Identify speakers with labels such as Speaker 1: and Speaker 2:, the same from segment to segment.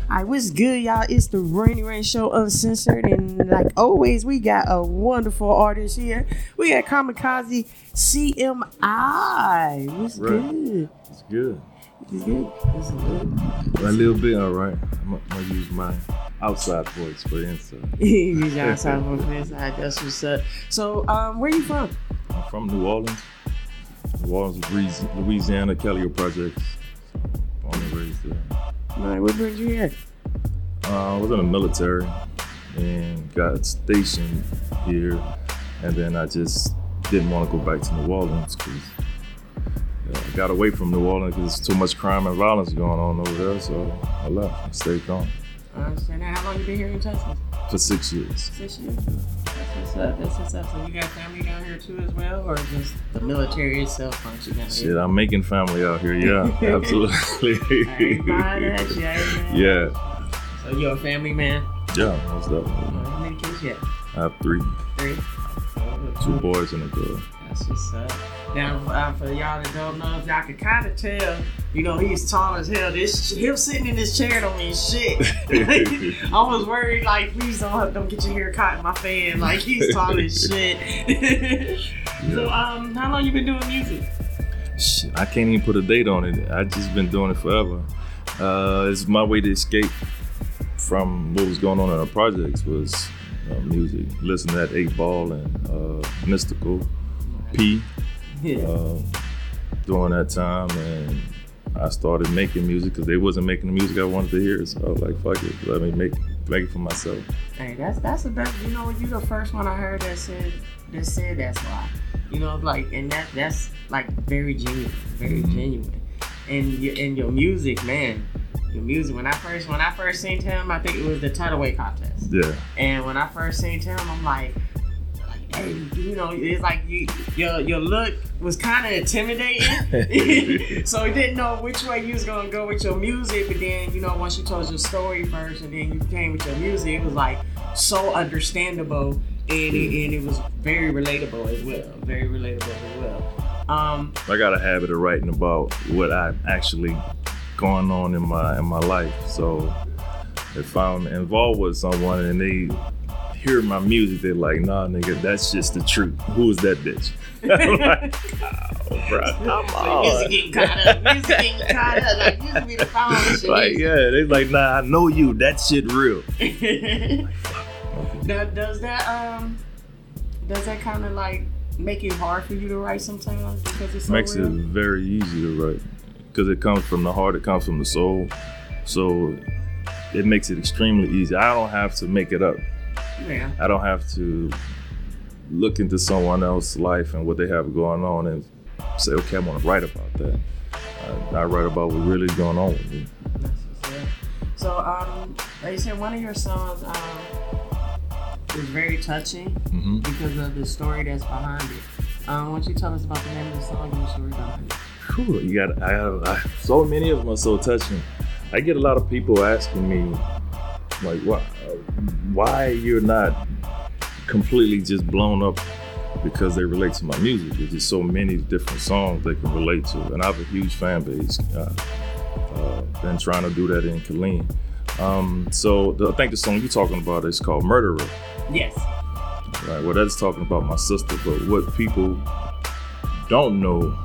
Speaker 1: All right, what's good, y'all? It's the Rainy Rain Show Uncensored, and like always, we got a wonderful artist here. We got Kamikaze CMI. What's good?
Speaker 2: It's good.
Speaker 1: It's good. It's good.
Speaker 2: A little bit, all right. I'm gonna use my outside voice for the inside.
Speaker 1: Use your outside voice for the inside. That's what's up. So, where you from?
Speaker 2: I'm from New Orleans. New Orleans, Louisiana, Callio Projects. Born and raised there.
Speaker 1: All right, what brings you here?
Speaker 2: I was in the military and got stationed here, and then I just didn't want to go back to New Orleans because I got away from New Orleans because there's too much crime and violence going on over there, so I left and stayed gone.
Speaker 1: I understand that. How long you been here in Texas?
Speaker 2: For 6 years.
Speaker 1: 6 years? That's what's up. So you got family down here too as well, or just the military itself brings you down here?
Speaker 2: Shit, I'm making family out here, yeah, absolutely.
Speaker 1: I ain't buying that.
Speaker 2: Yeah.
Speaker 1: So you're a family man?
Speaker 2: Yeah, most definitely.
Speaker 1: How many kids you have?
Speaker 2: I have three.
Speaker 1: Three?
Speaker 2: 2 boys and a girl.
Speaker 1: That's what's up. Now, for y'all that don't know, y'all can kind of tell, you know, he's tall as hell. Him sitting in this chair don't mean shit. I was worried, like, please don't get your hair caught in my fan. Like, he's tall as shit.
Speaker 2: Yeah.
Speaker 1: So, how long you been doing music?
Speaker 2: Shit, I can't even put a date on it. I just been doing it forever. It's my way to escape from what was going on in our projects was music. Listen to that 8 Ball and Mystical, P.
Speaker 1: Yeah.
Speaker 2: During that time, and I started making music because they wasn't making the music I wanted to hear. So I was like, "Fuck it, let me make it for myself."
Speaker 1: Hey, that's the best. You know, you the first one I heard that said that's why. You know, like, and that's like very genuine, very genuine. And your music, man. Your music. When I first seen him, I think it was the Tutaway contest.
Speaker 2: Yeah.
Speaker 1: And when I first seen him, I'm like, hey, you know, it's like your look was kind of intimidating. So you didn't know which way you was gonna go with your music. But then, you know, once you told your story first, and then you came with your music, it was like so understandable, and it was very relatable as well. Very relatable as well.
Speaker 2: I got a habit of writing about what I'm actually going on in my life. So if I'm involved with someone and they hear my music, they're like, "Nah, nigga, that's just the truth. Who is that bitch?" I'm like, "Oh, bro, come on."
Speaker 1: Music getting caught up. Like, used to be the phone shit.
Speaker 2: Like, yeah, they're like, "Nah, I know you. That shit real."
Speaker 1: Now, does that kind of like make it hard for you to write sometimes because it's so
Speaker 2: Makes
Speaker 1: real?
Speaker 2: it very easy to write because it comes from the heart. It comes from the soul. So it makes it extremely easy. I don't have to make it up.
Speaker 1: Yeah.
Speaker 2: I don't have to look into someone else's life and what they have going on and say, okay, I want to write about that. I write about what really is going on with me.
Speaker 1: So, like you said, one of your songs is very touching because of the story that's behind it. Why don't you tell us about the name of the song and the story behind it?
Speaker 2: Whew, so many of them are so touching. I get a lot of people asking me, like, why you're not completely just blown up because they relate to my music. There's just so many different songs they can relate to, and I have a huge fan base. Been trying to do that in Killeen. I think the song you're talking about is called Murderer.
Speaker 1: Yes.
Speaker 2: Right, well, that's talking about my sister, but what people don't know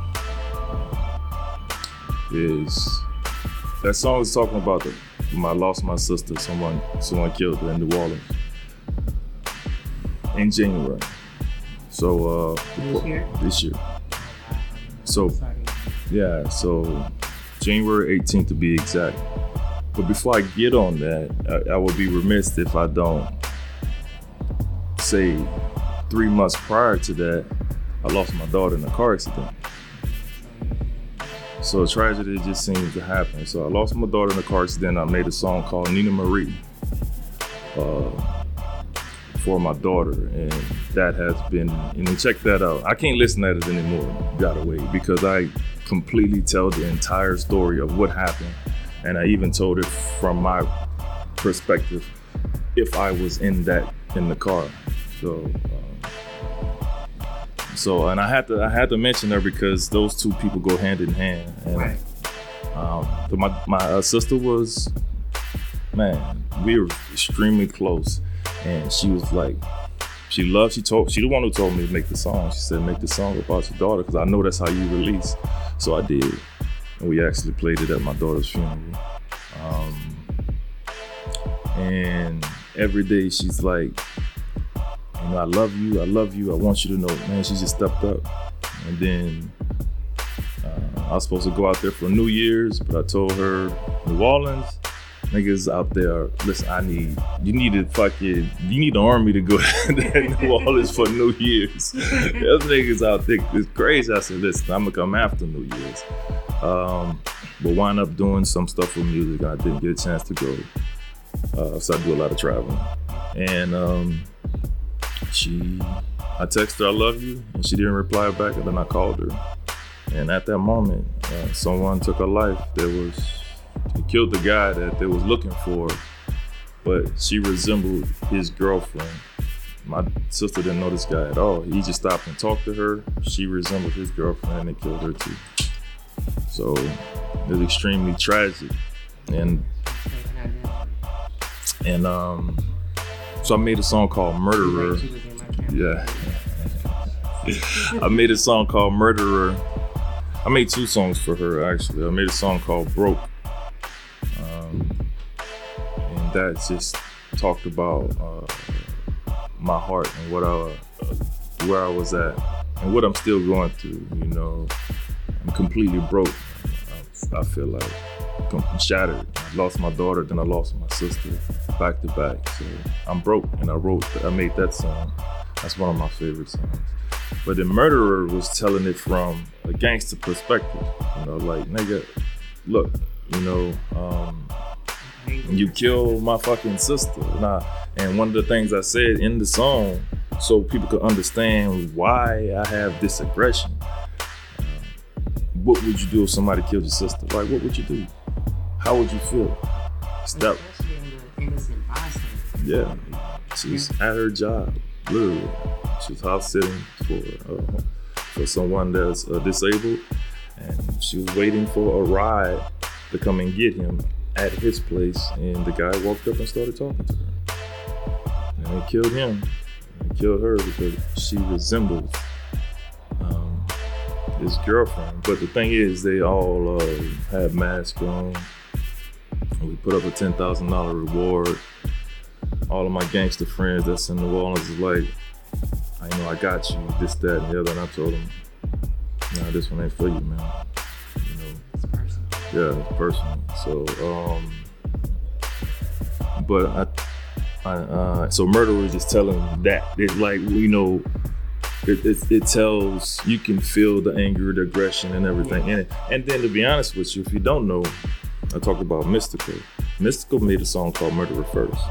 Speaker 2: is that song is talking about I lost my sister. Someone killed her in New Orleans in January. So this year. So yeah, so January 18th to be exact. But before I get on that, I would be remiss if I don't say 3 months prior to that, I lost my daughter in a car accident. So a tragedy just seems to happen. So I lost my daughter in a car accident. I made a song called Nina Marie for my daughter, and that has been, check that out. I can't listen to it anymore, gotta wait, because I completely tell the entire story of what happened, and I even told it from my perspective if I was in the car. So and I had to mention her because those two people go hand in hand. And
Speaker 1: Right.
Speaker 2: my sister was man, we were extremely close. And she was like, she the one who told me to make the song. She said, make the song about your daughter, because I know that's how you release. So I did. And we actually played it at my daughter's funeral. And every day she's like, you know, I love you. I want you to know, man, she just stepped up. And then I was supposed to go out there for New Year's, but I told her, New Orleans, niggas out there, listen, you need the army to go to New Orleans for New Year's. The other niggas out there, it's crazy. I said, listen, I'm gonna come after New Year's. But wound up doing some stuff with music. I didn't get a chance to go. So I do a lot of traveling. And I texted her, I love you, and she didn't reply back, and then I called her. And at that moment, someone took her life. They killed the guy that they was looking for, but she resembled his girlfriend. My sister didn't know this guy at all. He just stopped and talked to her. She resembled his girlfriend, and they killed her too. So it was extremely tragic. And so I made a song called Murderer. Yeah. I made a song called Murderer. I made 2 songs for her, actually. I made a song called Broke. And that just talked about my heart and where I was at and what I'm still going through. You know, I'm completely broke. I feel like I'm shattered. I lost my daughter, then I lost my sister back to back. So I'm broke, and I made that song. That's one of my favorite songs. But the Murderer was telling it from a gangster perspective. You know, like, nigga, look, you know, you killed my fucking sister. And one of the things I said in the song, so people could understand why I have this aggression. What would you do if somebody killed your sister? Like, what would you do? How would you feel?
Speaker 1: Especially in an innocent bystander.
Speaker 2: Yeah, she's at her job, literally. She's house sitting for someone that's disabled, and she was waiting for a ride to come and get him at his place, and the guy walked up and started talking to her. And they killed him. And killed her because she resembles his girlfriend. But the thing is, they all had masks on. We put up a $10,000 reward. All of my gangster friends that's in New Orleans is like, I got you, this, that, and the other. And I told them, nah, this one ain't for you, man. You know,
Speaker 1: It's personal.
Speaker 2: yeah, it's personal. So, but so Murderer is just telling that. It's like, you know, it tells, you can feel the anger, the aggression, and everything in it. And then, to be honest with you, if you don't know, I talked about Mystical. Mystical made a song called Murderer First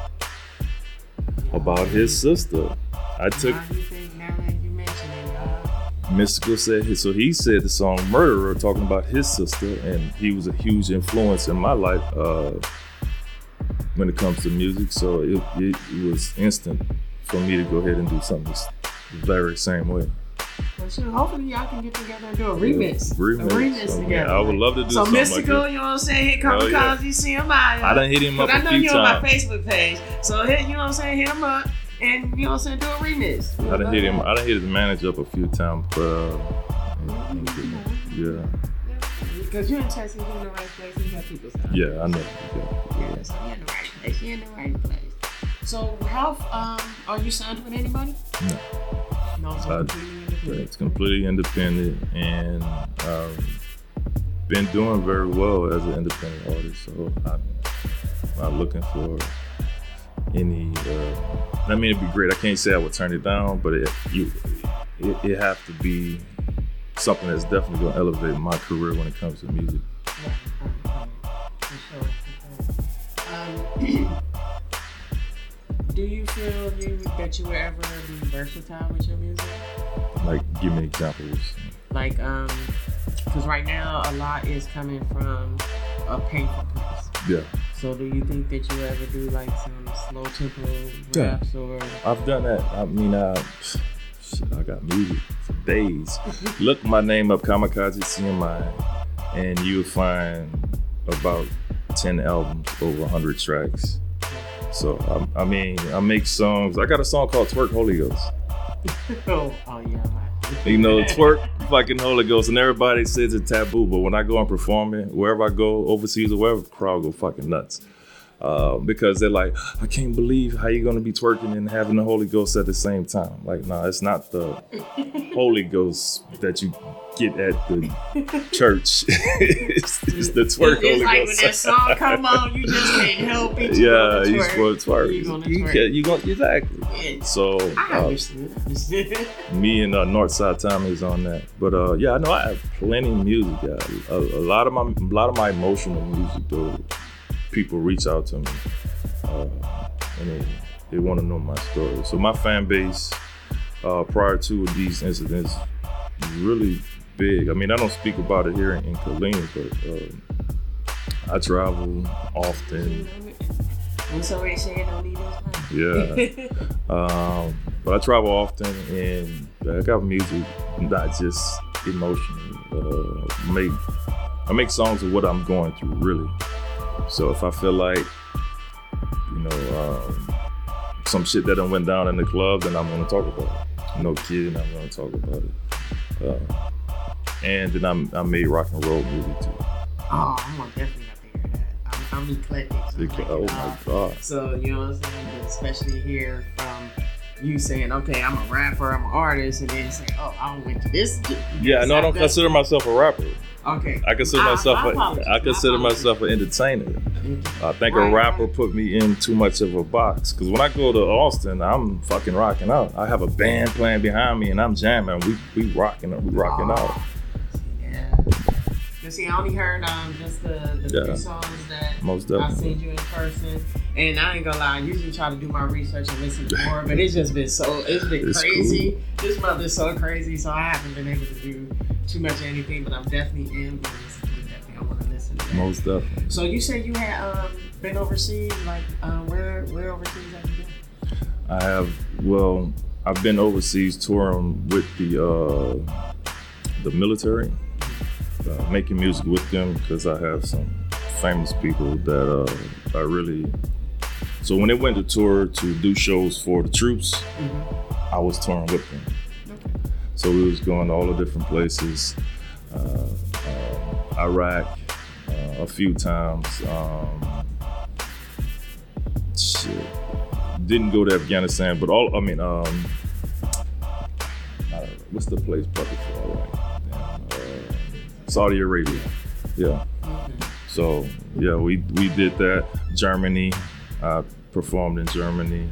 Speaker 2: about his sister.
Speaker 1: Now that you mention it,
Speaker 2: Mystical said, he said the song Murderer, talking about his sister, and he was a huge influence in my life when it comes to music. So it was instant for me to go ahead and do something the very same way.
Speaker 1: well, sure, hopefully y'all can get together and do a remix.
Speaker 2: So,
Speaker 1: together.
Speaker 2: yeah, I would love to do
Speaker 1: so
Speaker 2: something
Speaker 1: Mystical,
Speaker 2: like that.
Speaker 1: you know what I'm saying? Hit Kamikaze, CMI.
Speaker 2: I done hit him up a
Speaker 1: I know
Speaker 2: few
Speaker 1: you on my
Speaker 2: times.
Speaker 1: Facebook page. So hit, you know what I'm saying? Hit him up and, you know what I'm saying, do a remix.
Speaker 2: I done hit his manager up a few times, but yeah.
Speaker 1: Because you're in Texas, you're in the right place, and you got people's time.
Speaker 2: Yeah, I know.
Speaker 1: Yeah, so you're in the right place. You're in the right place. So how are you signed with anybody?
Speaker 2: No.
Speaker 1: No, so completely independent.
Speaker 2: It's completely independent, and been doing very well as an independent artist. So I'm not looking for any. I mean, it'd be great. I can't say I would turn it down, but it have to be something that's definitely going to elevate my career when it comes to music.
Speaker 1: Right. For sure. Do you feel that you will ever be versatile with your music?
Speaker 2: Like, give me examples.
Speaker 1: Like, because right now a lot is coming from a painful place.
Speaker 2: Yeah.
Speaker 1: So do you think that you ever do like some slow tempo raps or?
Speaker 2: I've done that. I mean, I got music for days. Look my name up, Kamikaze CMI, and you'll find about 10 albums, over 100 tracks. So I mean, I make songs. I got a song called Twerk Holy Ghost.
Speaker 1: Oh yeah.
Speaker 2: You know, twerk fucking Holy Ghost, and everybody says it's taboo, but when I go and perform it, wherever I go, overseas or wherever, the crowd go fucking nuts. Because they're like, I can't believe how you're gonna be twerking and having the Holy Ghost at the same time. Like, nah, it's not the Holy Ghost that you get at the church. it's the twerk Holy
Speaker 1: It's like
Speaker 2: Ghost.
Speaker 1: when that song come on, you just can't help it.
Speaker 2: Yeah, you supposed to twerk.
Speaker 1: You're gonna twerk.
Speaker 2: You gonna exactly.
Speaker 1: Yeah.
Speaker 2: So
Speaker 1: I understood.
Speaker 2: me and Northside Tommy is on that. But yeah, I know I have plenty of music. Yeah. A lot of my emotional music though. People reach out to me and they want to know my story. So my fan base prior to these incidents really big. I mean, I don't speak about it here in Killeen, but I travel often.
Speaker 1: When somebody say don't need this
Speaker 2: Yeah. But I travel often and I got music, not just emotional. I make songs of what I'm going through, really. So if I feel like, you know, some shit that done went down in the club, then I'm gonna talk about it. No kidding, I'm gonna talk about it. And then I made rock and roll music too.
Speaker 1: Oh, I'm gonna definitely have to hear that. I'm eclectic.
Speaker 2: Oh my God.
Speaker 1: So, you know what I'm saying? But especially hear from you saying, okay, I'm a rapper, I'm an artist, and then say, oh, I went to this.
Speaker 2: Yeah, no, I don't consider myself a rapper.
Speaker 1: Okay.
Speaker 2: I consider myself an entertainer. I think a rapper put me in too much of a box. Because when I go to Austin, I'm fucking rocking out. I have a band playing behind me and I'm jamming. We rocking out.
Speaker 1: Yeah. You see, I only heard just the few songs that
Speaker 2: most
Speaker 1: I seen you in person. And I ain't gonna lie, I usually try to do my research and listen to more, but it's been crazy. Cool. This month is so crazy, so I haven't been able to do too much of anything, but I definitely am going to listen to it. Definitely, I want to listen to that.
Speaker 2: Most definitely.
Speaker 1: So you said you had been overseas, like where overseas have you been?
Speaker 2: I have. Well, I've been overseas touring with the military, making music with them because I have some famous people that I really. So when they went to tour to do shows for the troops, I was touring with them. So we was going to all the different places, Iraq a few times. Didn't go to Afghanistan, but what's the place before Iraq? Saudi Arabia. Yeah. So yeah, we did that. Germany, I performed in Germany,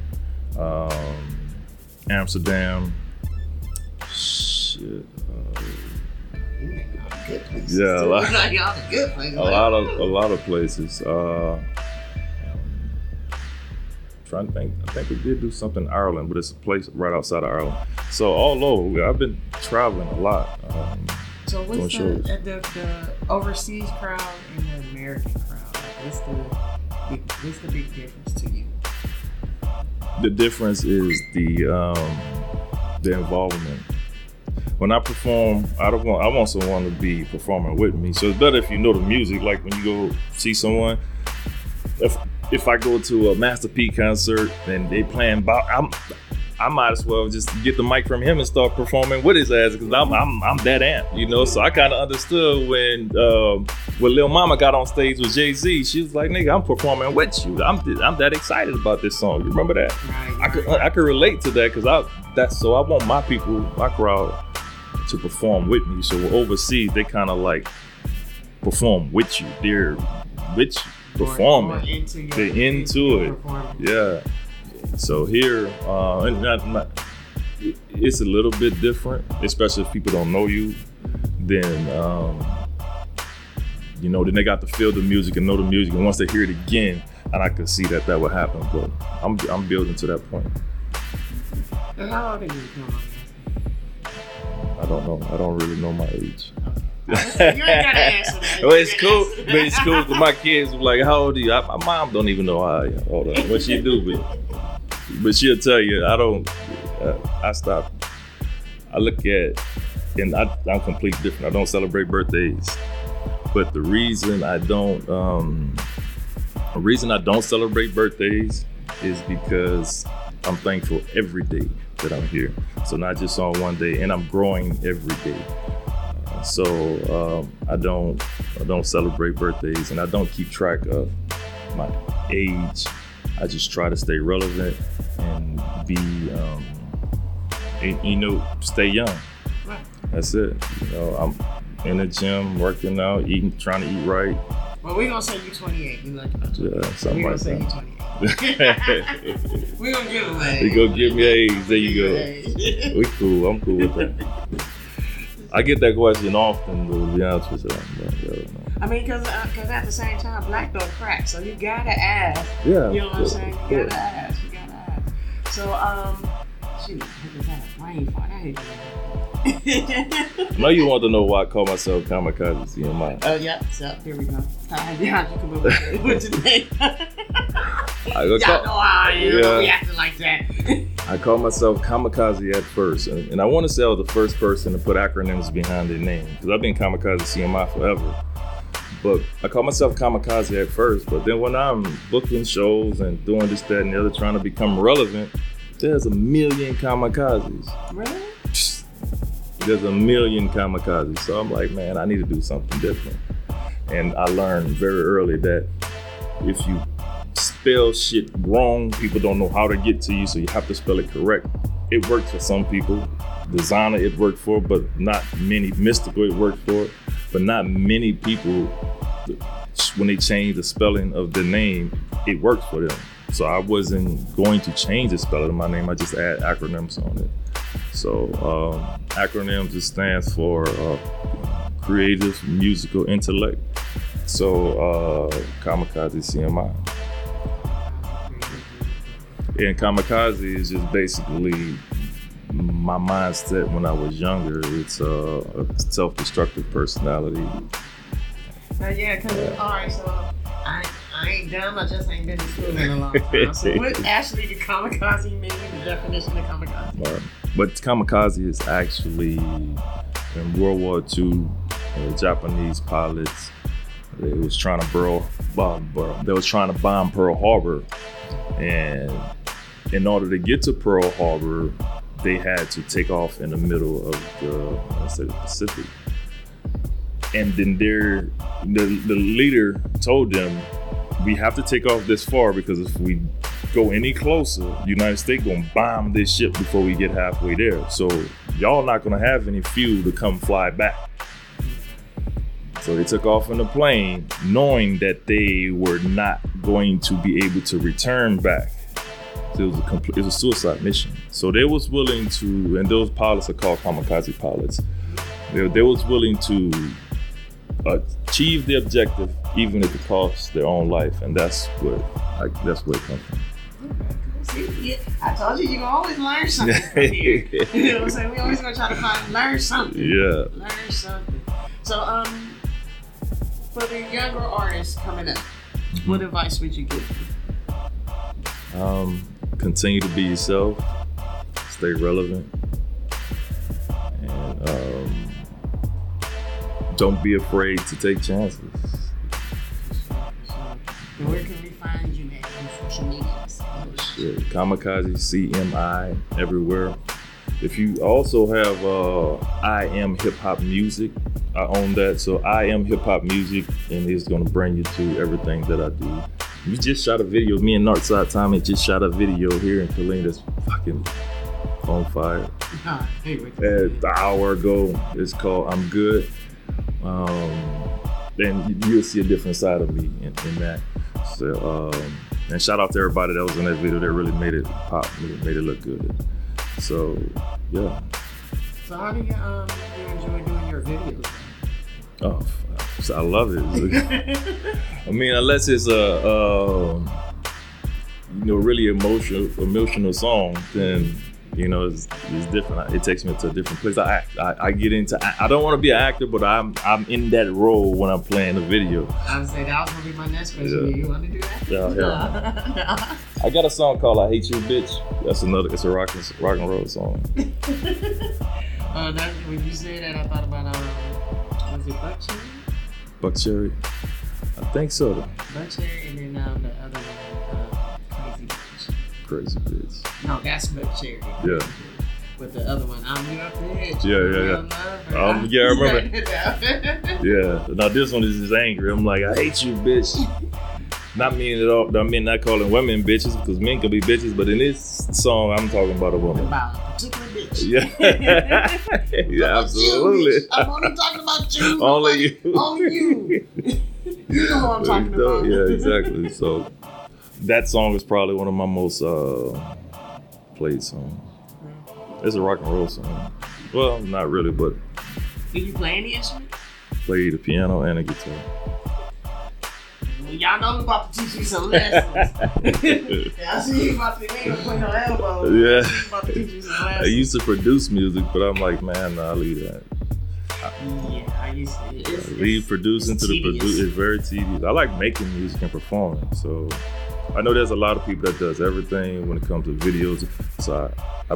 Speaker 2: Amsterdam. Shit. Yeah, a lot of places. Trying to think. I think we did do something in Ireland, but it's a place right outside of Ireland. So all over, I've been traveling a lot.
Speaker 1: So what's the overseas crowd and the American crowd? What's the big difference to you?
Speaker 2: The difference is the involvement. When I perform, I want someone to be performing with me. So it's better if you know the music. Like when you go see someone, if I go to a Master P concert and they playing I might as well just get the mic from him and start performing with his ass because I'm that amped, you know. So I kind of understood when Lil Mama got on stage with Jay-Z. She was like, "Nigga, I'm performing with you. I'm that excited about this song." You remember that? Right. I could relate to that because I want my people, my crowd, to perform with me. So overseas, they kind of like perform with you. They're with you performing. They're into it. Yeah. So here, it's a little bit different, especially if people don't know you. Then, then they got to feel the music and know the music, and once they hear it again, and I could see that would happen. But I'm building to that point.
Speaker 1: And how old are you?
Speaker 2: I don't know. I don't really know my age.
Speaker 1: You ain't gotta answer that.
Speaker 2: Well, it's cool. But it's cool because my kids were like, "How old are you?" My mom don't even know how old I am. What she do, but she'll tell you. I stopped. I look at, and I'm completely different. I don't celebrate birthdays. But the reason I don't The reason I don't celebrate birthdays is because I'm thankful every day that I'm here. So not just on one day, and I'm growing every day. So I don't celebrate birthdays, and I don't keep track of my age. I just try to stay relevant and be, stay young.
Speaker 1: Right.
Speaker 2: That's it. I'm in the gym, working out, trying to eat right.
Speaker 1: Well, we're gonna say you 28. You like about 28.
Speaker 2: Yeah, something
Speaker 1: We're
Speaker 2: like
Speaker 1: gonna say
Speaker 2: that.
Speaker 1: you 28. We're gonna give away.
Speaker 2: You go give me an age. There you go. We cool. I'm cool with that. I get that question often, to be honest with you.
Speaker 1: I mean, because at the same time, black don't crack, so you gotta ask.
Speaker 2: Yeah.
Speaker 1: You know what I'm saying? You gotta ask. So, shoot, look at that rain fall. That ain't
Speaker 2: I know you want to know why I call myself Kamikaze CMI.
Speaker 1: Oh, yeah. So, here we go. How you come up with your name? Y'all know how I am. We acting like that.
Speaker 2: I call myself Kamikaze at first, and I want to say I was the first person to put acronyms behind their name, because I've been Kamikaze CMI forever. But I call myself Kamikaze at first, but then when I'm booking shows and doing this, that, and the other, trying to become relevant, there's a million kamikazes.
Speaker 1: Really?
Speaker 2: There's a million kamikazes. So I'm like, man, I need to do something different. And I learned very early that if you spell shit wrong, people don't know how to get to you, so you have to spell it correct. It works for some people. Designer, it worked for, but not many. Mystical, it worked for, but not many people. When they change the spelling of the name, it works for them. So I wasn't going to change the spelling of my name. I just add acronyms on it. So acronyms, it stands for creative musical intellect. So Kamikaze CMI. And Kamikaze is just basically my mindset when I was younger. It's a self-destructive personality.
Speaker 1: Yeah, because, all right, so I ain't dumb, I just ain't been to school in a long time. So what actually did kamikaze mean, the definition of kamikaze?
Speaker 2: But kamikaze is actually, in World War II, Japanese pilots, they was trying to bomb Pearl Harbor. And in order to get to Pearl Harbor, they had to take off in the middle of the Pacific. And then the leader told them, we have to take off this far, because if we go any closer, the United States gonna bomb this ship before we get halfway there. So y'all not gonna have any fuel to come fly back. So they took off in the plane, knowing that they were not going to be able to return back. So it was a suicide mission. So they was willing to, and those pilots are called kamikaze pilots. They was willing to achieve the objective, even if it costs their own life, and that's where it comes from.
Speaker 1: See, I told you, you can always learn something from here. You know what I'm saying? We always gonna try to learn something.
Speaker 2: Yeah.
Speaker 1: Learn something. So, for the younger artists coming up, what advice would you give them?
Speaker 2: Continue to be yourself, stay relevant, and don't be afraid to take chances.
Speaker 1: And where can we find you at on social media?
Speaker 2: Kamikaze CMI everywhere. If you also have I Am Hip Hop Music, I own that. So I Am Hip Hop Music, and it's gonna bring you to everything that I do. We just shot a video. Me and Northside Tommy just shot a video here in Killeen that's fucking on fire. An hour ago. It's called I'm Good. Then you'll see a different side of me in that. So, and shout out to everybody that was in that video that really made it pop, made it look good. So, yeah.
Speaker 1: So how do you enjoy doing your videos?
Speaker 2: Oh, I love it. I mean, unless it's a really emotional song, then it's different. It takes me to a different place. I get into. I don't want to be an actor, but I'm in that role when I'm playing the video.
Speaker 1: I would say that was gonna be my next question. Yeah. You want to do that?
Speaker 2: Yeah. No. I got a song called "I Hate You, Bitch." It's a rock and roll song.
Speaker 1: When you said that, I thought about was it Buck Cherry?
Speaker 2: Buck Cherry, I think so.
Speaker 1: Buck Cherry, and then
Speaker 2: crazy bitch.
Speaker 1: No, that's Milk Cherry.
Speaker 2: Yeah.
Speaker 1: With the other one, I'm your bitch.
Speaker 2: Yeah. I remember. Yeah. Now this one is just angry. I'm like, I hate you, bitch. Not meaning at all. I mean, not calling women bitches because men can be bitches, but in this song, I'm talking about a woman.
Speaker 1: About a particular bitch.
Speaker 2: Yeah. Yeah, absolutely.
Speaker 1: You, I'm only talking about you.
Speaker 2: Only you.
Speaker 1: Only you. You know what I'm talking about.
Speaker 2: Yeah, exactly. So that song is probably one of my most played songs. It's a rock and roll song. Well, not really, but.
Speaker 1: Do you play any instrument?
Speaker 2: Play the piano and a guitar.
Speaker 1: Well, y'all know I'm about to teach you some lessons. I see you about to play no elbows.
Speaker 2: Yeah.
Speaker 1: I'm about to teach you some lessons.
Speaker 2: I used to produce music, but I'm like, man, nah, leave that.
Speaker 1: Yeah, I used to.
Speaker 2: Leave producing to the producer. It's very tedious. I like making music and performing. So I know there's a lot of people that does everything when it comes to videos. So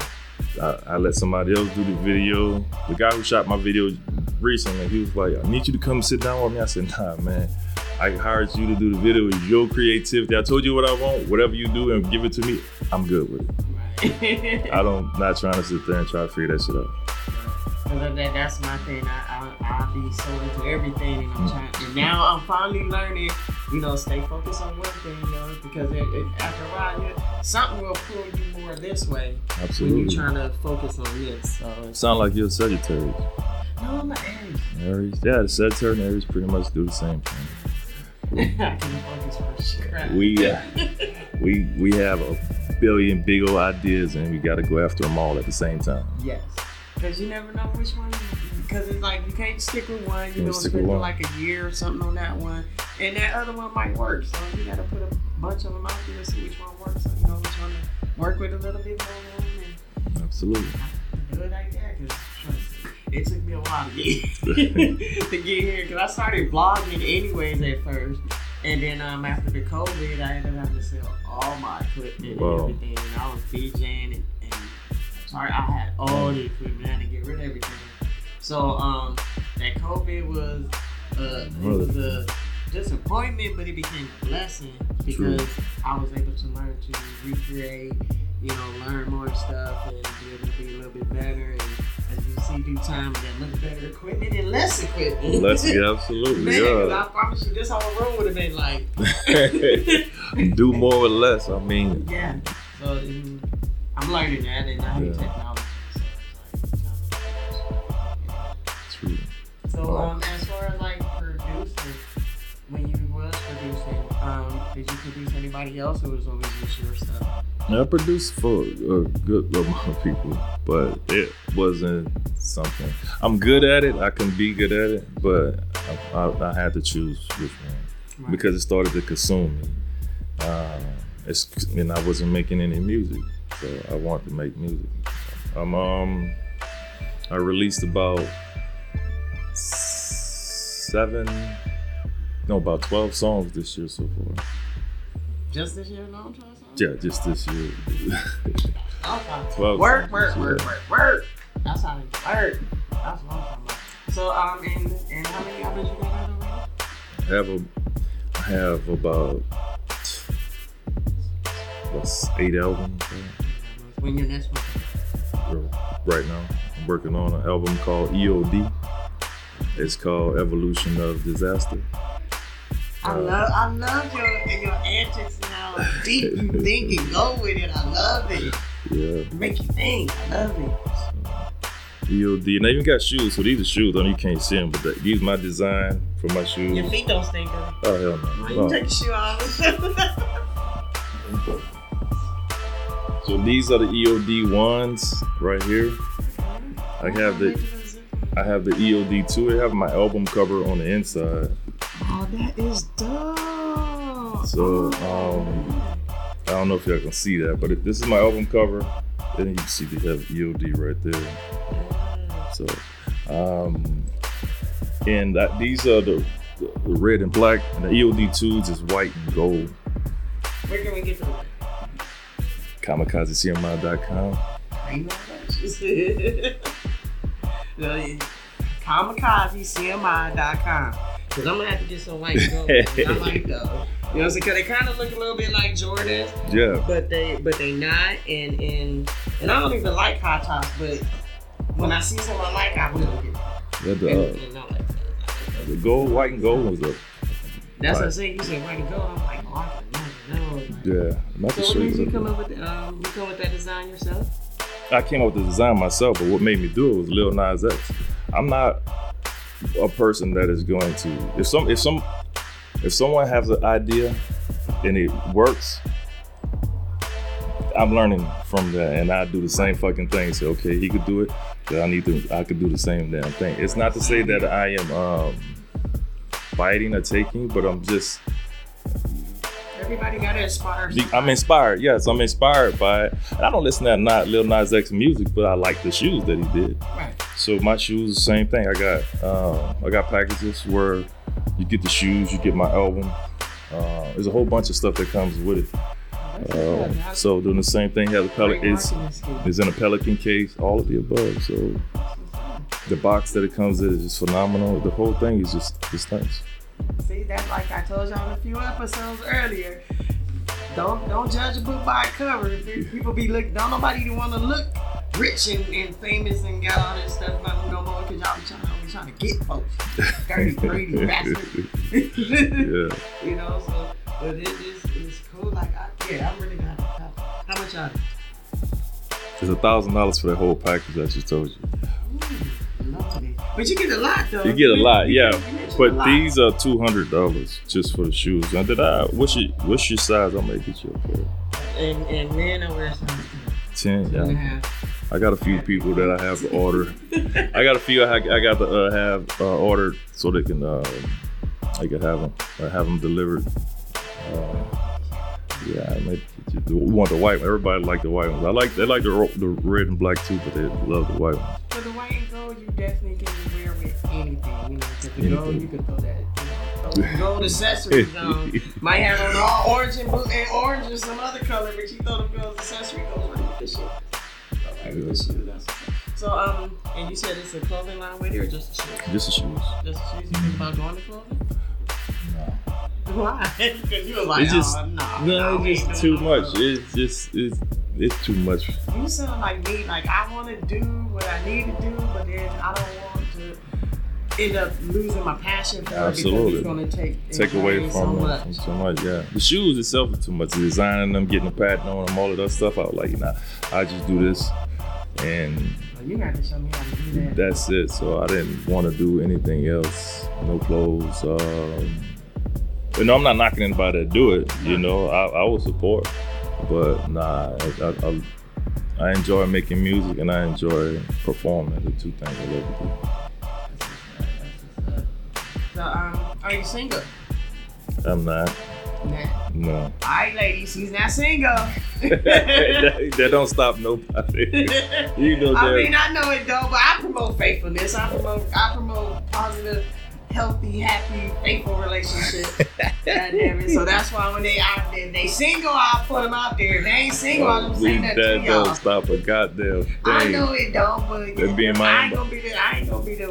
Speaker 2: I let somebody else do the video. The guy who shot my video recently, he was like, I need you to come sit down with me. I said, nah, man. I hired you to do the video. It's your creativity. I told you what I want. Whatever you do and give it to me, I'm good with it. Not trying to sit there and try to figure that shit out.
Speaker 1: That's my thing. I be so into everything, and I'm trying. And now I'm finally learning, stay focused on one thing, because after a while, something will pull you more this way.
Speaker 2: Absolutely.
Speaker 1: When you're trying to focus on this. So
Speaker 2: sound like you're a Sagittarius.
Speaker 1: No, I'm an Aries.
Speaker 2: Aries, yeah, the Sagittarius and Aries pretty much do the same thing.
Speaker 1: I can focus for sure.
Speaker 2: We have a billion big old ideas, and we got to go after them all at the same time.
Speaker 1: Yes. Because you never know which one. Because it's like you can't stick with one. You're going to spend like a year or something on that one. And that other one might work. So you got to put a bunch of them out there to see which one works. So you know which one to work with a little bit more. And
Speaker 2: absolutely.
Speaker 1: Do it like that. Because it took me a while to get here. Because I started vlogging anyways at first. And then after the COVID, I ended up having to sell all my equipment and everything. And I was DJing and I had all the equipment. I had to get rid of everything. So that COVID was it was a disappointment, but it became a blessing because I was able to learn to recreate, learn more stuff and be able to be a little bit better. And as you see, due time, get a little better equipment and less equipment.
Speaker 2: Absolutely.
Speaker 1: Man, I promise you, this whole room would have been like
Speaker 2: do more with less. I mean,
Speaker 1: yeah. So. I'm learning that, and I hate technology. So
Speaker 2: true.
Speaker 1: So, as far as like producing, when you was producing, did you produce anybody else, or was it always just your stuff?
Speaker 2: I produced for a good amount of people, but it wasn't something. I'm good at it. I can be good at it, but I had to choose which one because it started to consume me. And I wasn't making any music. So I wanted to make music. I released about 12 songs this year so far.
Speaker 1: Just this year, no?
Speaker 2: Yeah, just this year.
Speaker 1: Okay.
Speaker 2: 12
Speaker 1: work. That's how it work. That's what I'm talking about. So, and how many albums you got out already?
Speaker 2: I have about 8 albums.
Speaker 1: When your next one?
Speaker 2: Right now, I'm working on an album called EOD. It's called Evolution of Disaster.
Speaker 1: I love your antics and how deep you think and go with it. I love it.
Speaker 2: Yeah.
Speaker 1: Make you think. I love it.
Speaker 2: EOD, and I even got shoes. So these are shoes. I know you can't see them, but these my design for my shoes.
Speaker 1: Your feet don't stink.
Speaker 2: Oh hell no.
Speaker 1: You take your shoe off.
Speaker 2: So these are the EOD ones right here. I have the EOD 2. I have my album cover on the inside.
Speaker 1: Oh, that is dope.
Speaker 2: So I don't know if y'all can see that, but this is my album cover. And you can see they have EOD right there. So and these are the red and black, and the EOD 2s is white and gold.
Speaker 1: Where can we get them?
Speaker 2: KamikazeCMI.com.
Speaker 1: I know that. KamikazeCMI.com. Because I'm going to have to get some white gold. I like those. You know what I'm saying? Because they kind of look a little bit like Jordans.
Speaker 2: Yeah.
Speaker 1: But they not. And I don't even like high tops, but when I see someone like, I will get it.
Speaker 2: Yeah, the gold, white and gold was up.
Speaker 1: That's what I'm saying. You said white and gold. I'm like, oh, I can never know.
Speaker 2: Yeah. Not
Speaker 1: so what made you come up with you come with that design yourself?
Speaker 2: I came up with the design myself, but what made me do it was Lil Nas X. I'm not a person that is going to if someone has an idea and it works, I'm learning from that, and I do the same fucking thing. So okay, he could do it, then I could do the same damn thing. It's not to say that I am biting or taking, but I'm just.
Speaker 1: Everybody got to inspire.
Speaker 2: I'm inspired. Yes, I'm inspired by it. And I don't listen to not Lil Nas X music, but I like the shoes that he did.
Speaker 1: Right.
Speaker 2: So my shoes, the same thing. I got packages where you get the shoes, you get my album. There's a whole bunch of stuff that comes with it. So doing the same thing. Has is in a Pelican case. All of the above. So the box that it comes in is just phenomenal. The whole thing is just nice.
Speaker 1: See, that's like I told y'all in a few episodes earlier. Don't judge a book by a cover. People be looking. Don't nobody want to look rich and famous and got all this stuff no more because y'all be trying to get folks. Dirty, greedy bastard.
Speaker 2: Yeah.
Speaker 1: You know, so but it's cool. Like I'm really glad. How much are
Speaker 2: It's $1,000 for that whole package I just told you.
Speaker 1: Lovely. But you get a lot though.
Speaker 2: You get a lot, yeah. But these are $200 just for the shoes. Now, what's your size? I may get you a pair.
Speaker 1: And men are wearing size
Speaker 2: 10. Yeah. I got a few people that I have to order. I got a few I got to have ordered so they can have them delivered. Yeah, I might get you. We want the white one. Everybody like the white ones. They like the red and black too, but they love the white one.
Speaker 1: For the white and gold, you definitely can wear with anything. You know, because the gold, you can throw that gold accessories on. Might have on all orange and blue and orange or some other color, but you throw the gold accessory goes right with the shit. So and you said it's a clothing line with it or just the shoes?
Speaker 2: Just the shoes.
Speaker 1: Just the shoes. You think about going to clothing?
Speaker 2: No.
Speaker 1: Why? Because you were like,
Speaker 2: it's just,
Speaker 1: it's
Speaker 2: just too much. It's too much.
Speaker 1: You sound like me. Like I want to do what I need to do, but then I don't want to end up losing my passion for it because it's going to take away from
Speaker 2: so much. Yeah, the shoes itself is too much. Designing them, getting the pattern on them, all of that stuff. I was like, I just do this, and
Speaker 1: you got to show me how to do that.
Speaker 2: That's it. So I didn't want to do anything else. No clothes. I'm not knocking anybody that do it. You know, I will support, but nah, I enjoy making music and I enjoy performing. The two things I love
Speaker 1: to do. So, are you single?
Speaker 2: I'm not.
Speaker 1: Nah.
Speaker 2: No.
Speaker 1: All right, ladies, he's not single.
Speaker 2: that don't stop nobody. You know that.
Speaker 1: I mean, I know it don't, but I promote faithfulness. I promote positive, healthy, happy, faithful relationships. So that's why when they single, I'll put them out there. If they ain't single, I don't say that to y'all. That don't
Speaker 2: stop a goddamn thing.
Speaker 1: I know it don't, but I ain't gonna be the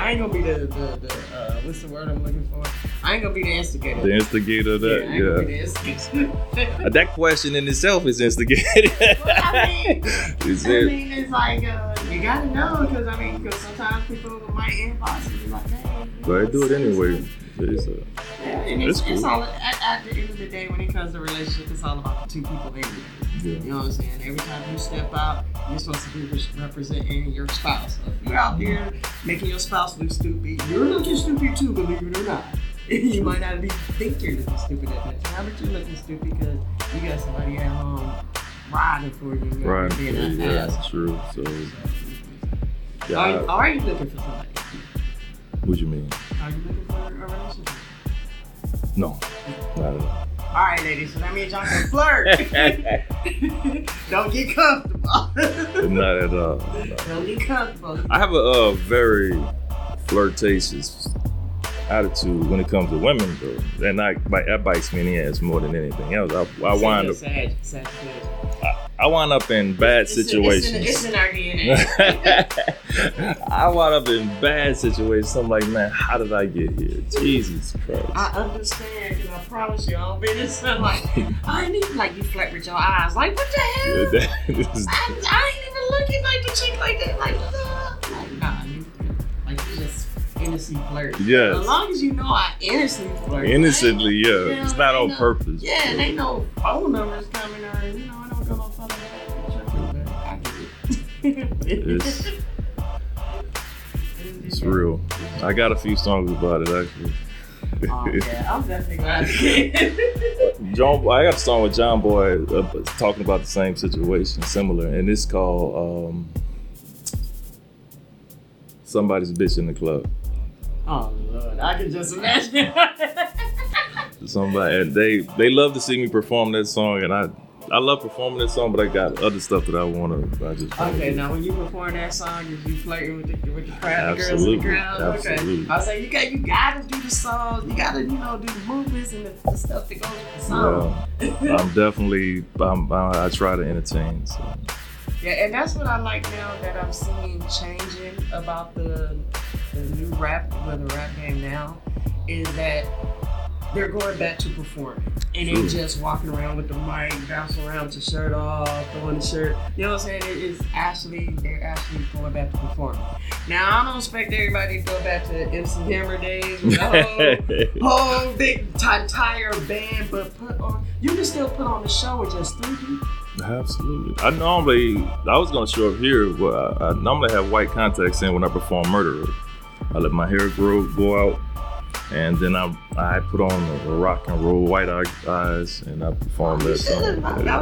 Speaker 1: what's the word I'm looking for? I ain't gonna be the instigator.
Speaker 2: The instigator of that,
Speaker 1: I ain't gonna be the instigator.
Speaker 2: That question in itself is instigating.
Speaker 1: Well, I mean, it's like you gotta know because sometimes people might inbox and be like, hey.
Speaker 2: But I do it anyway.
Speaker 1: It's all at the end of the day when it comes to relationship, it's all about the two people anyway. Yeah. You know what I'm saying? Every time you step out, you're supposed to be representing your spouse. So if you're out there making your spouse look stupid, you're looking stupid too, believe it or not. You might not think you're looking stupid at that time, but you're looking stupid because you got somebody at home riding for you.
Speaker 2: Right. Yeah, that's true. So,
Speaker 1: yeah. Are you looking for somebody?
Speaker 2: What you mean?
Speaker 1: Are you looking for a relationship?
Speaker 2: No, not at all.
Speaker 1: All right, ladies, so that means y'all can flirt. Don't get comfortable.
Speaker 2: Not at all.
Speaker 1: Don't get comfortable.
Speaker 2: I have a very flirtatious attitude when it comes to women, though. And that bites me in the ass more than anything else. I wind up. I wind up in bad situations.
Speaker 1: It's in our DNA.
Speaker 2: I wind up in bad situations. I'm like, man, how did I get here? Jesus Christ.
Speaker 1: I understand, because I promise you, I don't be this. I'm like, I ain't even like you flirt with your eyes. Like, what the hell? I ain't even looking like the chick like that. Like, nah, you just innocently flirt.
Speaker 2: Yes.
Speaker 1: As long as you know I innocently flirt.
Speaker 2: Innocently, yeah. It's not on purpose.
Speaker 1: Yeah, and ain't no phone numbers coming or, I don't go no phone numbers. I get it.
Speaker 2: It's real. I got a few songs about it, actually.
Speaker 1: Oh, yeah, I'm definitely glad you did.
Speaker 2: I got a song with John Boy talking about the same situation, similar, and it's called Somebody's Bitch in the Club.
Speaker 1: Oh, Lord, I can just imagine.
Speaker 2: Somebody, and they love to see me perform that song, and I love performing that song, but I got other stuff that I want to.
Speaker 1: Okay, now when you perform that song, you flirting with the crowd, the girls in the crowd.
Speaker 2: Absolutely.
Speaker 1: Okay, I was like, you gotta do the songs, you gotta do the movements and the stuff that goes with the song.
Speaker 2: Yeah, I try to entertain. So.
Speaker 1: Yeah, and that's what I like now that I'm seeing changing about the new rap, the rap game now, is that they're going back to performing. And they just walking around with the mic, bouncing around with the shirt off, throwing the shirt. You know what I'm saying? They're actually going back to performing. Now, I don't expect everybody to go back to MC Hammer days with the whole big entire band, but you can still put on the show with just 3 people.
Speaker 2: Absolutely. I was going to show up here, but I normally have white contacts in when I perform Murderer. I let my hair go out. And then I put on the rock and roll white eyes, and I perform that song.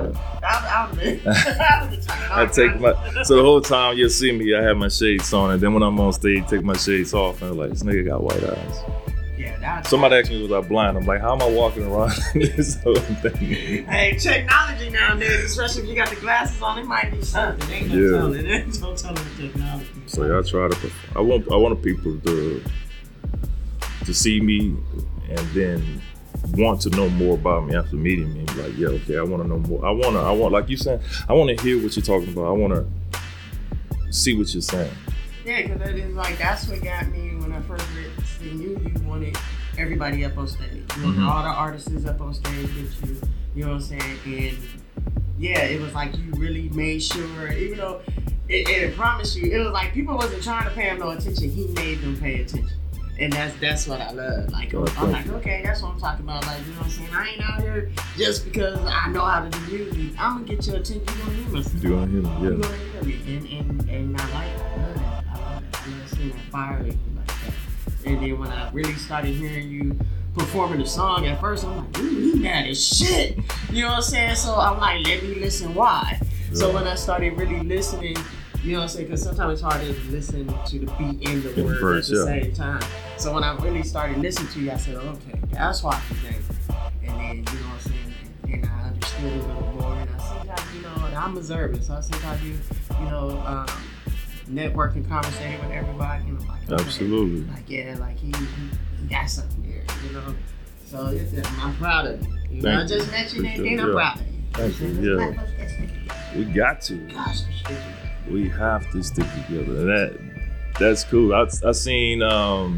Speaker 2: So the whole time you'll see me, I have my shades on, and then when I'm on stage, take my shades off, and I'm like, this nigga got white eyes. Yeah, somebody asked me, was I blind? I'm like, how am I walking around this whole thing?
Speaker 1: Hey, technology nowadays, especially if you got the glasses on, it might be something. Ain't no telling. Ain't no telling the technology.
Speaker 2: So yeah, I try to perform. I want people to see me and then want to know more about me after meeting me. Like, yeah, okay, I want to know more. I want, like you said, I want to hear what you're talking about. I want to see what you're saying.
Speaker 1: Yeah, because that's what got me when I first seen you. You wanted everybody up on stage. You wanted all the artists up on stage with you. You know what I'm saying? And yeah, it was like you really made sure, even though it promised you, it was like people wasn't trying to pay him no attention. He made them pay attention. And that's what I love. Like, I'm like, okay, that's what I'm talking about. Like, you know what I'm saying? I ain't out here just because I know how to do music. I'm gonna get your attention. You're gonna hear me.
Speaker 2: You're gonna hear me, yeah.
Speaker 1: You're gonna hear me. And I like that. I love that. I love seeing that fire like that. And then when I really started hearing you performing the song at first, I'm like, dude, he mad as shit. You know what I'm saying? So I'm like, let me listen why. Yeah. So when I started really listening, you know what I'm saying? Because sometimes it's hard to listen to the beat and the words at the same time. So when I really started listening to you, I said, okay, that's why he's angry. And then, you know what I'm saying? And I understood a little more. And I see how, I'm observant. So I see how you networking, conversating with everybody. And I'm like, okay.
Speaker 2: Absolutely.
Speaker 1: Like, yeah, like he got something there, you know? So I'm proud of you. You know, I just mentioned it, and I'm proud of you.
Speaker 2: Thank you. Yeah. We got to.
Speaker 1: Gosh,
Speaker 2: we have to stick together. And that's cool. I seen the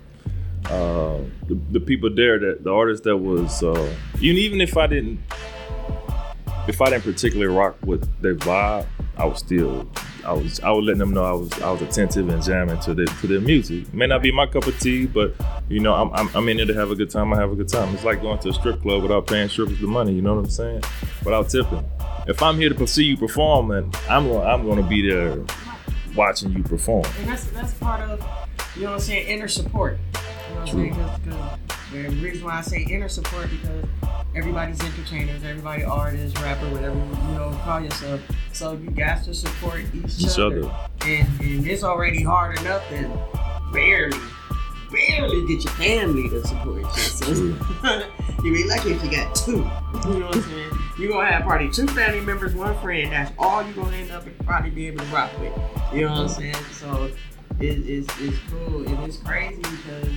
Speaker 2: people there, that the artists that was even if I didn't particularly rock with their vibe, I was letting them know I was attentive and jamming to their music. It may not be my cup of tea, but you know, I'm in there to have a good time. I have a good time. It's like going to a strip club without paying strippers the money. You know what I'm saying? Without tipping. If I'm here to see you perform, then I'm going to be there watching you perform.
Speaker 1: And that's part of, you know what I'm saying, inner support. You know what I'm saying? Because the reason why I say inner support, because everybody's entertainers, everybody artists, rapper, whatever you call yourself. So you got to support each other. And it's already hard enough to barely get your family to support you. So you'd be lucky if you got 2. You know what I'm saying? You're going to have probably 2 family members, 1 friend. That's all you're going to end up and probably be able to rock with. You know what I'm saying? So it's cool. And it's crazy because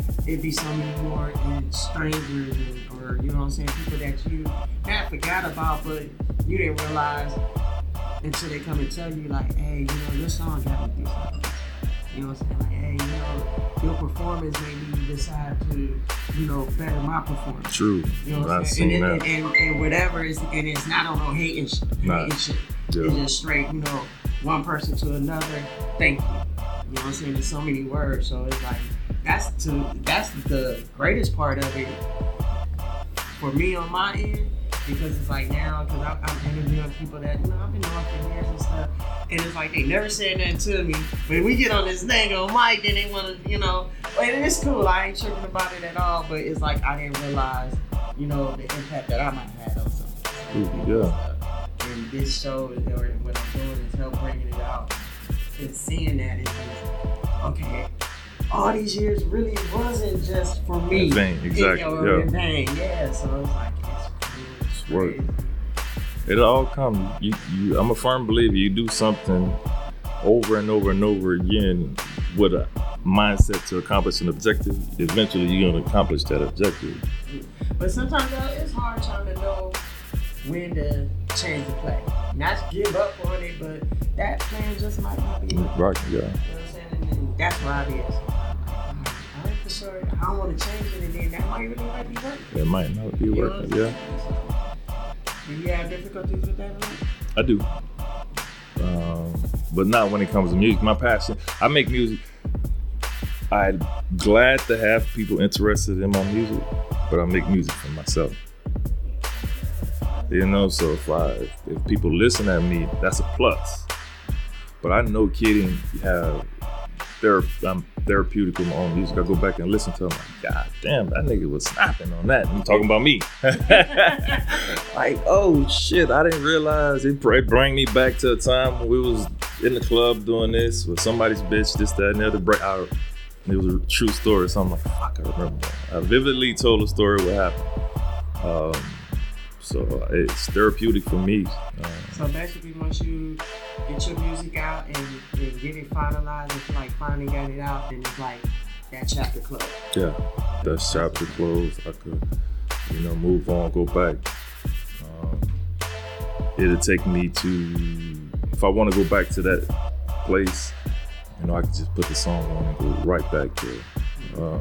Speaker 1: it'd be so many more and strangers or you know what I'm saying, people that you not forgot about, but you didn't realize until they come and tell you like, hey, you know, your song got me this. You know what I'm saying? Like, hey, you know, your performance made me decide to, you know, better my performance.
Speaker 2: True.
Speaker 1: You know what I'm saying? And whatever is, and it's not on no hating shit.
Speaker 2: Nah.
Speaker 1: Shit.
Speaker 2: Yeah.
Speaker 1: It's just straight, you know, one person to another. Thank you. You know what I'm saying? There's so many words, so it's like that's the greatest part of it for me on my end, because it's like now, because I'm interviewing people that, you know, I've been knowing for years and stuff, and it's like they never said nothing to me, but we get on this thing on mic and they want to, you know, and it's cool, I ain't tripping about it at all, but it's like I didn't realize, you know, the impact that I might have had on something.
Speaker 2: Yeah.
Speaker 1: And this show, or what I'm doing is help bringing it out, and seeing that it's just, okay, all these years really wasn't just for me.
Speaker 2: In vain, exactly.
Speaker 1: In vain, yeah. So it's like, it's
Speaker 2: work. It all comes. You. I'm a firm believer. You do something over and over and over again with a mindset to accomplish an objective. Eventually, you're going to accomplish that objective.
Speaker 1: But sometimes it's hard trying to know when to change the play. Not give up on it, but that plan just might not be right.
Speaker 2: Right. Yeah.
Speaker 1: You know what I'm saying? And that's where I be at. I ain't for sure. I don't want to change it, and then that might really not be working.
Speaker 2: It might not be working. Yeah.
Speaker 1: Do you have difficulties with that?
Speaker 2: I do. But not when it comes to music. My passion, I make music. I'm glad to have people interested in my music, but I make music for myself. You know, so if people listen at me, that's a plus. But I know kidding, I'm therapeutic with my own music. I go back and listen to them, like, God damn, that nigga was snapping on that. And I'm talking about me. Like, oh shit, I didn't realize it bring me back to a time when we was in the club doing this with somebody's bitch, this, that, and the other. It was a true story, so I'm like, fuck, I remember that. I vividly told a story what happened. So it's therapeutic for me.
Speaker 1: So basically, once you get your music out and get it finalized, and like finally got it out, then it's like that chapter closed.
Speaker 2: Yeah, that chapter closed. I could, move on, go back. It'll take me to, if I want to go back to that place, I could just put the song on and go right back there.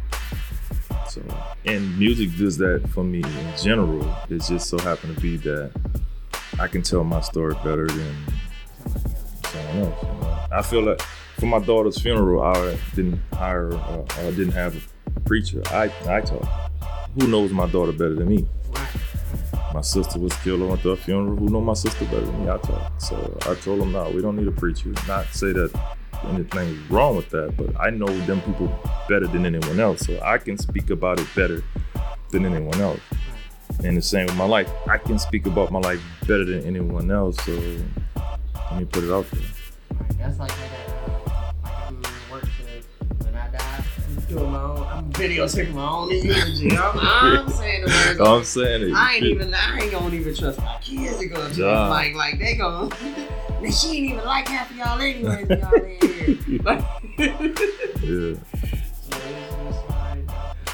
Speaker 2: And music does that for me in general. It just so happened to be that I can tell my story better than someone else. I feel like for my daughter's funeral, I didn't have a preacher. I taught. Who knows my daughter better than me? My sister was killed. I went to her funeral. Who knows my sister better than me? I taught. So I told them, no, we don't need a preacher. Not say that anything wrong with that, but I know them people better than anyone else, so I can speak about it better than anyone else. And the same with my life, I can speak about my life better than anyone else, so let me put it out there.
Speaker 1: That's like I'm doing work to when I die, I'm doing my own, I'm videotaping my own eulogy. I'm saying the words.
Speaker 2: I'm saying it.
Speaker 1: I ain't gonna even trust my kids to go to like they gonna. She ain't even like half of y'all anyways, y'all in here. Yeah. So it's like,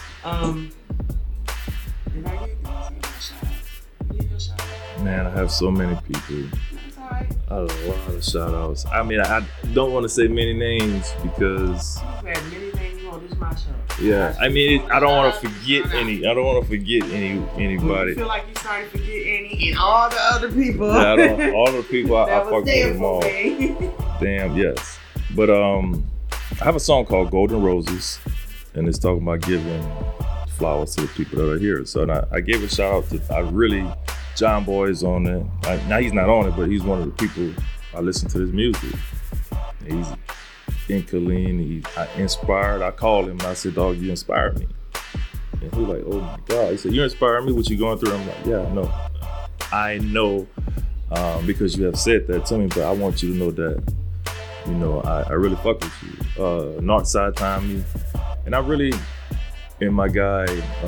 Speaker 1: did I get a shout out? Man,
Speaker 2: I have so many people.
Speaker 1: That's all right.
Speaker 2: I have a lot of shout outs. I mean, I don't want to say many names because.
Speaker 1: You've had many names on this my show.
Speaker 2: Yeah, I mean, I don't want to forget any. I don't want to forget anybody.
Speaker 1: You feel like you started to forget any and all the other people.
Speaker 2: Yeah, all the people I fuck with them all.
Speaker 1: Me.
Speaker 2: Damn, yes. But I have a song called Golden Roses, and it's talking about giving flowers to the people that are here. So I gave a shout out to John Boy is on it. Now he's not on it, but he's one of the people I listen to his music. He's in Killeen, I inspired. I called him and I said, dog, you inspired me. And he was like, oh my God. He said, you inspired me, what you going through? I'm like, yeah, I know because you have said that to me, but I want you to know that, I really fuck with you. Northside Tommy. And I really, and my guy,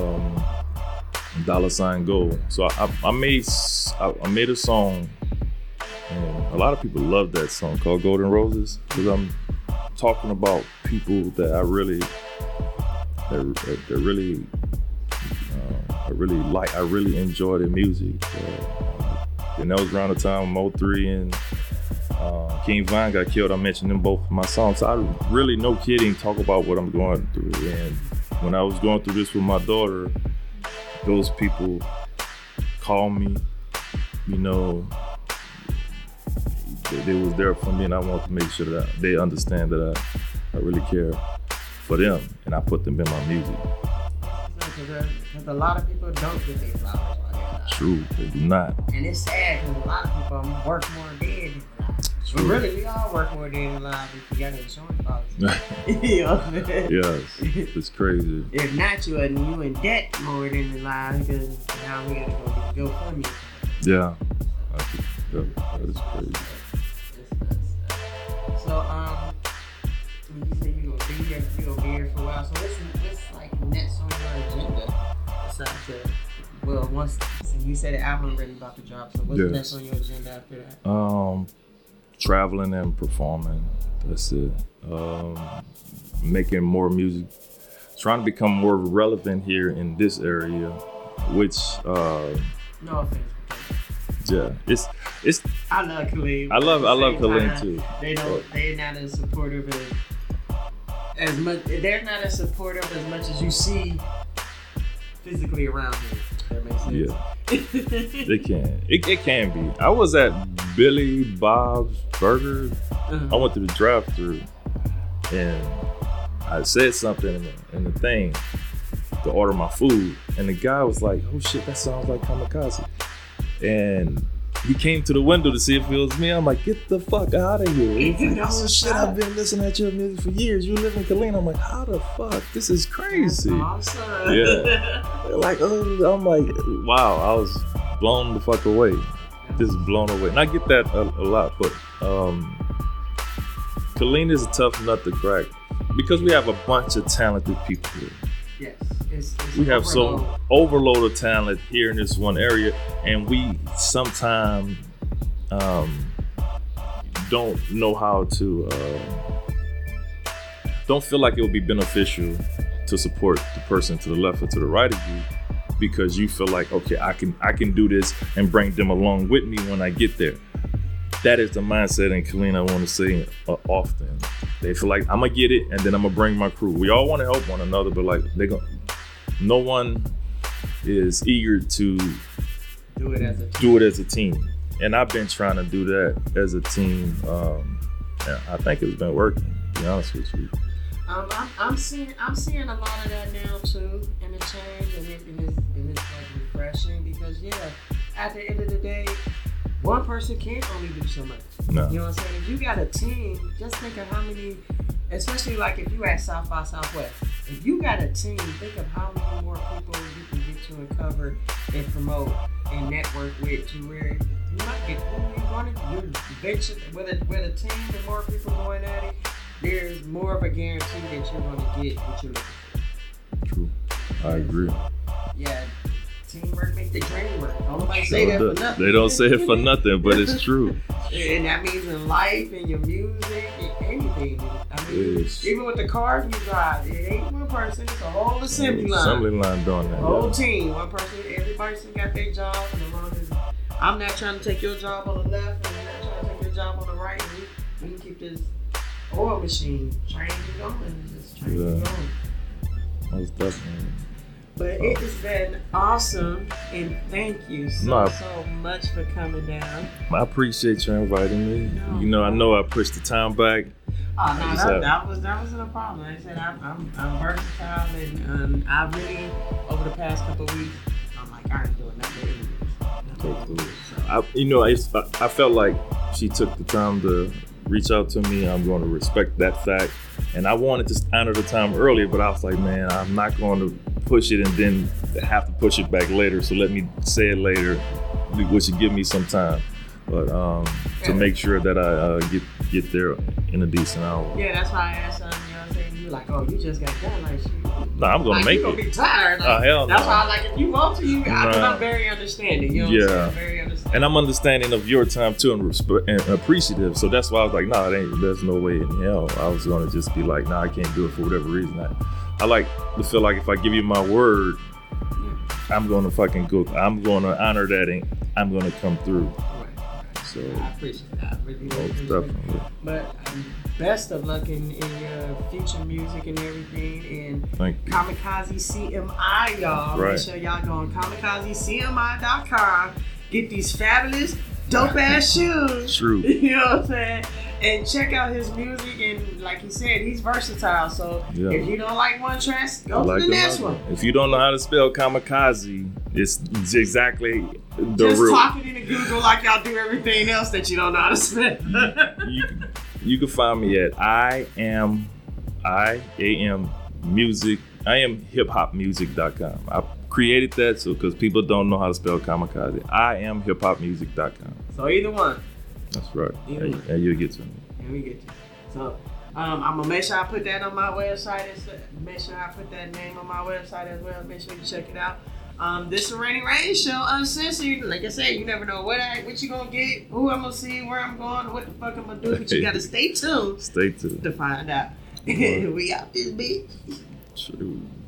Speaker 2: $sign Go. So I made a song, and a lot of people love that song called Golden Roses, because I'm talking about people that I really that really I really enjoy their music. And that was around the time Mo3 and King Von got killed. I mentioned them both in my songs. So I really, no kidding, talk about what I'm going through. And when I was going through this with my daughter, those people called me, you know, they was there for me, and I want to make sure that they understand that I really care for them, and I put them in my music.
Speaker 1: Because a lot of people don't get their flowers while they're alive.
Speaker 2: True, they do not.
Speaker 1: And it's sad because a lot of people work more dead than alive. But really, we all work more dead than alive if you got an insurance policy. You know what I'm saying?
Speaker 2: Yes, it's crazy.
Speaker 1: If not, you in debt more than alive because now we gotta go GoFundMe.
Speaker 2: Yeah, that is crazy.
Speaker 1: So, you said you gonna be here for a while. So what's like next on your agenda? Besides once you said the album ready about to drop. So what's next on your agenda after that?
Speaker 2: Traveling and performing. That's it. Making more music. Trying to become more relevant here in this area, which
Speaker 1: no offense.
Speaker 2: Yeah, it's.
Speaker 1: I love Khalid.
Speaker 2: I love Khalid too.
Speaker 1: They're not as supportive as much. They're not as supportive as much as you see physically around here. That makes sense.
Speaker 2: Yeah, they can. It can be. I was at Billy Bob's Burgers. I went to the drive-thru, and I said something in the thing to order my food, and the guy was like, "Oh shit, that sounds like Kamikaze." And he came to the window to see if it was me. I'm like, get the fuck out of here. Oh shit, I've been listening to your music for years. You live in Killeen. I'm like, how the fuck? This is crazy.
Speaker 1: That's awesome.
Speaker 2: Yeah. Like, I'm like, wow, I was blown the fuck away. Just blown away. And I get that a lot, but Killeen is a tough nut to crack because we have a bunch of talented people here.
Speaker 1: Yes. It's
Speaker 2: we have so overload of talent here in this one area, and we sometimes don't know how to don't feel like it would be beneficial to support the person to the left or to the right of you because you feel like, okay, I can do this and bring them along with me when I get there. That is the mindset in Killeen. I want to say often. They feel like I'm gonna get it and then I'm gonna bring my crew. We all want to help one another, but like no one is eager to
Speaker 1: do it as a team.
Speaker 2: And I've been trying to do that as a team. I think it's been working, to be honest with you.
Speaker 1: I'm seeing a lot of that now too in the change, and it's like refreshing because at the end of the day, one person can't only do so much.
Speaker 2: No.
Speaker 1: You know what I'm saying? If you got a team, just think of how many, especially like if you at South by Southwest, if you got a team, think of how many more people you can get to and cover and promote and network with to where you might get who you want to. You're eventually with a team and more people going at it, there's more of a guarantee that you're going to get what you're looking for.
Speaker 2: True. I agree.
Speaker 1: Yeah. Teamwork makes the dream work. Nobody say that for nothing.
Speaker 2: They don't say it for nothing, but it's true.
Speaker 1: And that means in life, in your music, in anything. I mean, even with the cars we drive, it ain't one person. It's a whole assembly line.
Speaker 2: Assembly line doing that.
Speaker 1: Whole team. One person, every person got their job. And as long as I'm not trying to take your job on the left and you're not trying to take your job on the right, we can keep this oil machine trained and going. Just trained and going.
Speaker 2: Most definitely.
Speaker 1: But it has been awesome, and thank you so much for coming down.
Speaker 2: I appreciate you inviting me. I know I pushed the time back.
Speaker 1: Oh no, that wasn't a problem. Like I said, I'm versatile, and I really over the past couple of weeks, I'm like, I ain't doing nothing.
Speaker 2: I felt like she took the time to reach out to me. I'm going to respect that fact, and I wanted to honor the time earlier, but I was like, man, I'm not going to push it and then have to push it back later. So let me say it later, which would give me some time, but to make sure that I get there in a decent hour.
Speaker 1: Yeah, that's why I asked you know what I'm saying? You're like, oh, you just got done, like shit.
Speaker 2: No, I'm gonna make it.
Speaker 1: You're gonna be tired. Like,
Speaker 2: hell no.
Speaker 1: That's why, like, if you want to, I'm very understanding. You know what I'm saying? Very understanding.
Speaker 2: And I'm understanding of your time too, and appreciative. So that's why I was like, there's no way in hell I was gonna just be like, I can't do it for whatever reason. I like to feel like if I give you my word, I'm gonna fucking go. I'm gonna honor that, and I'm gonna come through.
Speaker 1: Right.
Speaker 2: So
Speaker 1: I appreciate that. I really appreciate
Speaker 2: definitely.
Speaker 1: it. But best of luck in your future music and everything. And
Speaker 2: Thank you.
Speaker 1: Kamikaze CMI, y'all.
Speaker 2: Right.
Speaker 1: Make sure y'all go on KamikazeCMI.com. Get these fabulous, dope ass shoes.
Speaker 2: True.
Speaker 1: You know what I'm saying? And check out his music. And like he said, he's versatile. So if you don't like one track, go to the next one.
Speaker 2: If you don't know how to spell kamikaze, it's exactly the
Speaker 1: Just
Speaker 2: root.
Speaker 1: talking into Google like y'all do everything else that you don't know how to spell.
Speaker 2: You can find me at I am hiphopmusic.com. I created that so because people don't know how to spell kamikaze. I am hiphopmusic.com.
Speaker 1: So either one.
Speaker 2: That's right.
Speaker 1: Either
Speaker 2: And you'll get to me.
Speaker 1: And we get you. So I'm gonna make sure I put that on my website. Make sure I put that name on my website as well. Make sure you check it out. This is a Rainy Rain Show, uncensored. Like I said, you never know what you gonna get, who I'm gonna see, where I'm going, what the fuck I'm gonna do. But you gotta stay tuned.
Speaker 2: Stay tuned
Speaker 1: To find out. We out this bitch.
Speaker 2: True.